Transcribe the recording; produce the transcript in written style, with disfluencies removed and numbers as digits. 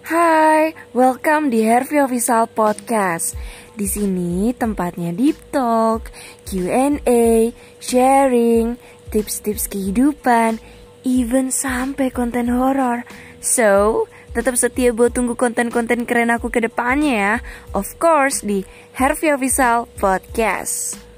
Hai, welcome di Hervey Official Podcast. Di sini tempatnya deep talk, Q&A, sharing, tips-tips kehidupan, even sampai konten horor. So, tetap setia buat tunggu konten-konten keren aku ke depannya ya. Of course di Hervey Official Podcast.